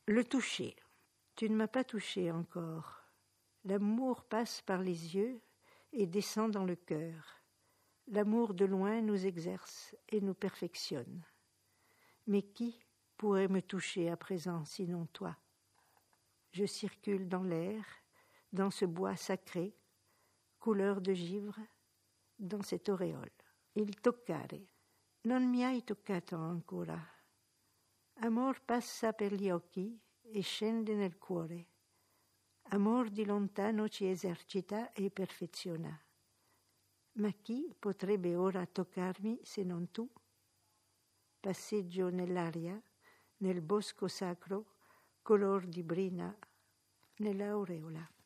Le toucher. Tu ne m'as pas touché encore. L'amour passe par les yeux et descend dans le cœur. L'amour de loin nous exerce et nous perfectionne. Mais qui pourrait me toucher à présent sinon toi? Je circule dans l'air, dans ce bois sacré, couleur de givre, dans cette auréole. Il toccare. Non mi hai toccato ancora. Amor passa per gli occhi e scende nel cuore. Amor di lontano ci esercita e perfeziona. Ma chi potrebbe ora toccarmi se non tu? Passeggio nell'aria, nel bosco sacro, color di brina, nell'aureola.